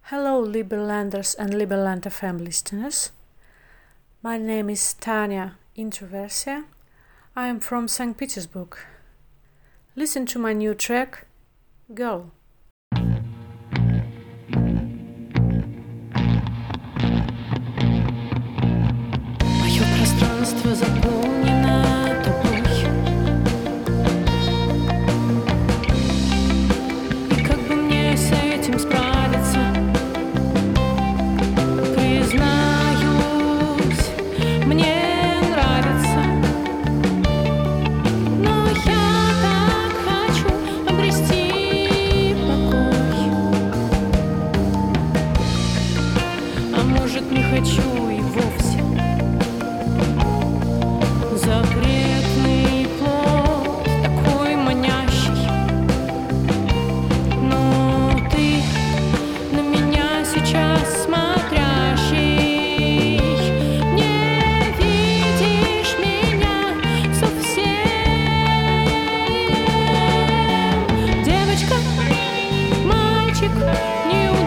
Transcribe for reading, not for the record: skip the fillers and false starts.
Hello, Liberlanders and Liberland FM listeners. My name is Tanya Introversia. I am from St. Petersburg. Listen to my new track, Girl. Мое пространство заполнено тобой, и как бы мне с этим справиться? Признаюсь, мне нравится, но я так хочу обрести покой. А может, не хочу и вовсе. Запретный плод, такой манящий, но ты на меня сейчас смотрящий, не видишь меня совсем. Девочка, мальчик, не